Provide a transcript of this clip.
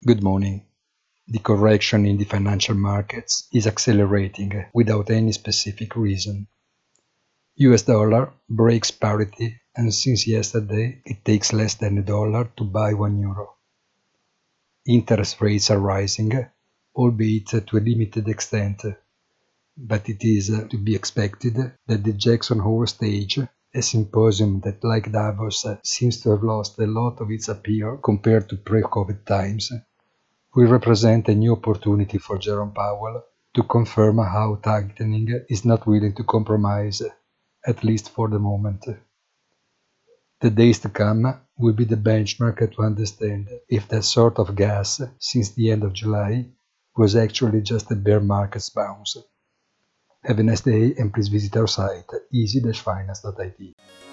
Good morning. The correction in the financial markets is accelerating without any specific reason. US dollar breaks parity, and since yesterday it takes less than $1 to buy €1. Interest rates are rising, albeit to a limited extent, but it is to be expected that the Jackson Hole stage, a symposium that, like Davos, seems to have lost a lot of its appeal compared to pre-COVID times, will represent a new opportunity for Jerome Powell to confirm how tightening is not willing to compromise, at least for the moment. The days to come will be the benchmark to understand if that sort of gas since the end of July was actually just a bear market's bounce. Have a nice day and please visit our site easy-finance.it.